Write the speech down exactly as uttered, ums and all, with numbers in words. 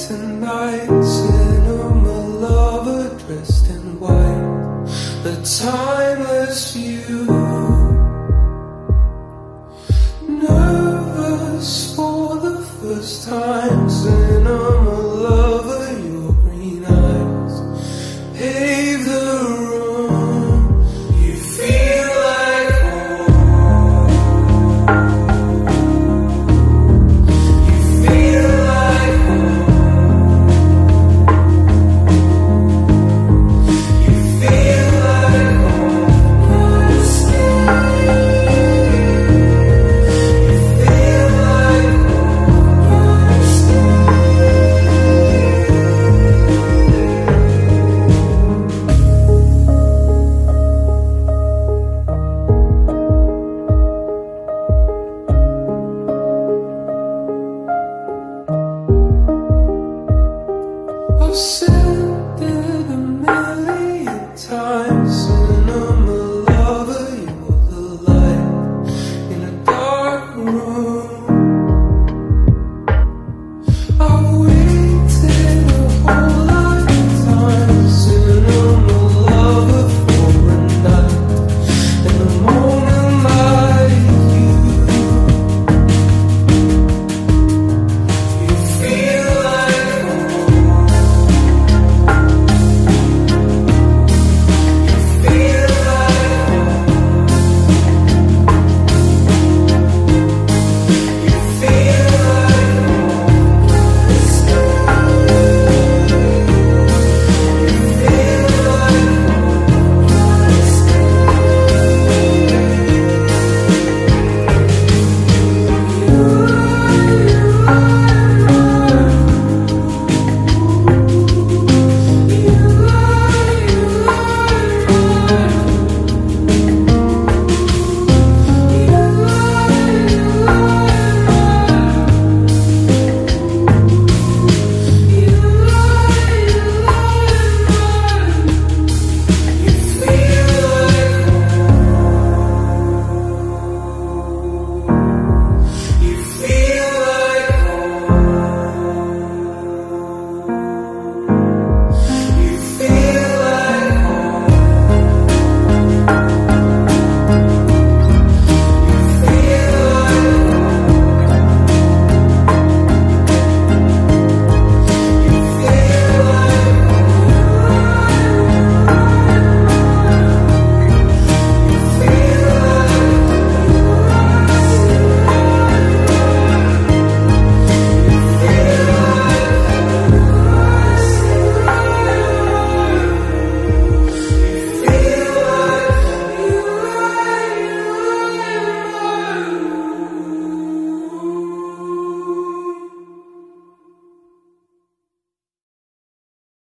tonight. Cinema lover dressed in white, a timeless view. Nervous for the first time. Cinema lover, your green eyes pave the room. You feel like home. You feel like home. You feel like home. Gotta stay. You feel like home. Gotta stay. I'll say